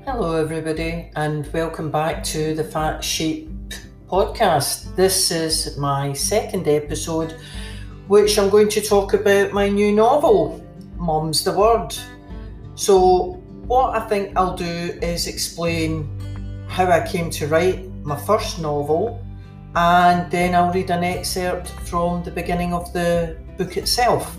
Hello everybody and welcome back to the Fat Sheep podcast. This is my second episode, which I'm going to talk about my new novel, Mum's the Word. So what I think I'll do is explain how I came to write my first novel, and then I'll read an excerpt from the beginning of the book itself.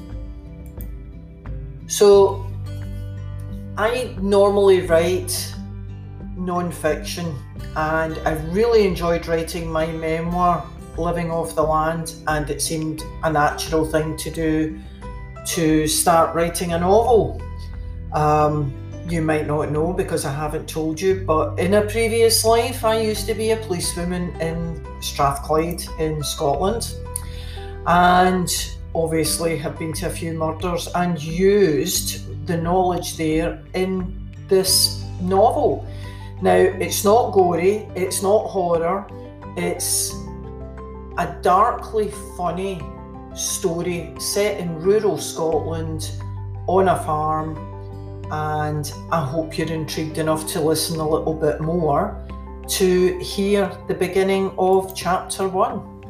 So I normally write non-fiction, and I really enjoyed writing my memoir, Living Off the Land, and it seemed a natural thing to do to start writing a novel. You might not know because I haven't told you, but in a previous life I used to be a policewoman in Strathclyde in Scotland, and obviously have been to a few murders and used the knowledge there in this novel. Now, it's not gory, it's not horror, it's a darkly funny story set in rural Scotland on a farm, and I hope you're intrigued enough to listen a little bit more to hear the beginning of chapter 1.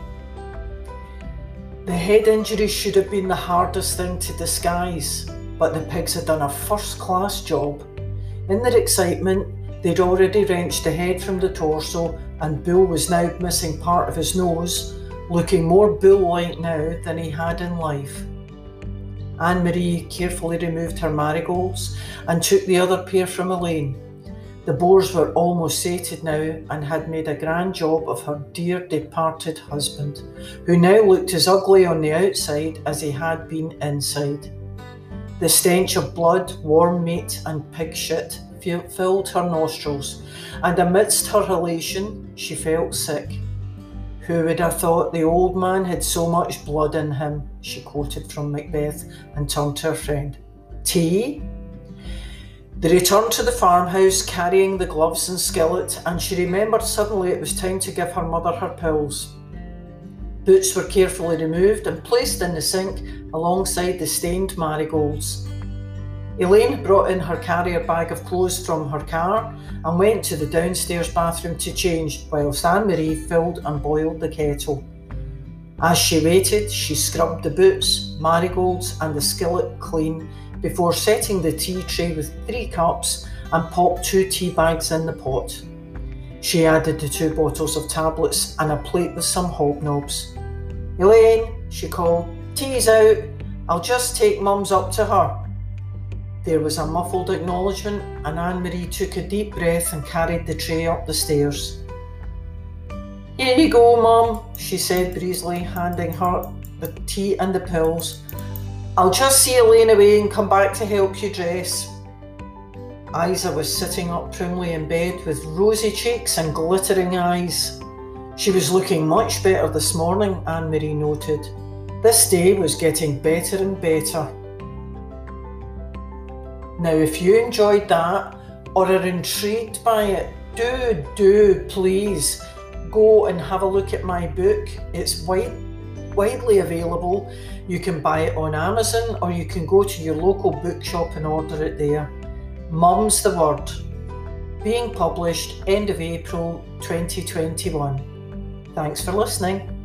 The head injury should have been the hardest thing to disguise, but the pigs had done a first-class job. In their excitement, they'd already wrenched the head from the torso, and Bull was now missing part of his nose, looking more bull-like now than he had in life. Anne-Marie carefully removed her marigolds and took the other pair from Elaine. The boars were almost sated now and had made a grand job of her dear departed husband, who now looked as ugly on the outside as he had been inside. The stench of blood, warm meat and pig shit filled her nostrils, and amidst her elation she felt sick. Who would have thought the old man had so much blood in him, she quoted from Macbeth and turned to her friend. Tea? They returned to the farmhouse carrying the gloves and skillet, and she remembered suddenly it was time to give her mother her pills. Boots were carefully removed and placed in the sink alongside the stained marigolds. Elaine brought in her carrier bag of clothes from her car and went to the downstairs bathroom to change, whilst Anne-Marie filled and boiled the kettle. As she waited, she scrubbed the boots, marigolds and the skillet clean before setting the tea tray with 3 cups and popped 2 tea bags in the pot. She added the 2 bottles of tablets and a plate with some hobnobs. Elaine, she called, tea's out. I'll just take Mum's up to her. There was a muffled acknowledgement, and Anne-Marie took a deep breath and carried the tray up the stairs. Here you go, Mum, she said breezily, handing her the tea and the pills. I'll just see Elaine away and come back to help you dress. Isa was sitting up primly in bed with rosy cheeks and glittering eyes. She was looking much better this morning, Anne-Marie noted. This day was getting better and better. Now, if you enjoyed that or are intrigued by it, do please go and have a look at my book. It's widely available. You can buy it on Amazon, or you can go to your local bookshop and order it there. Mum's the Word, being published end of April 2021. Thanks for listening.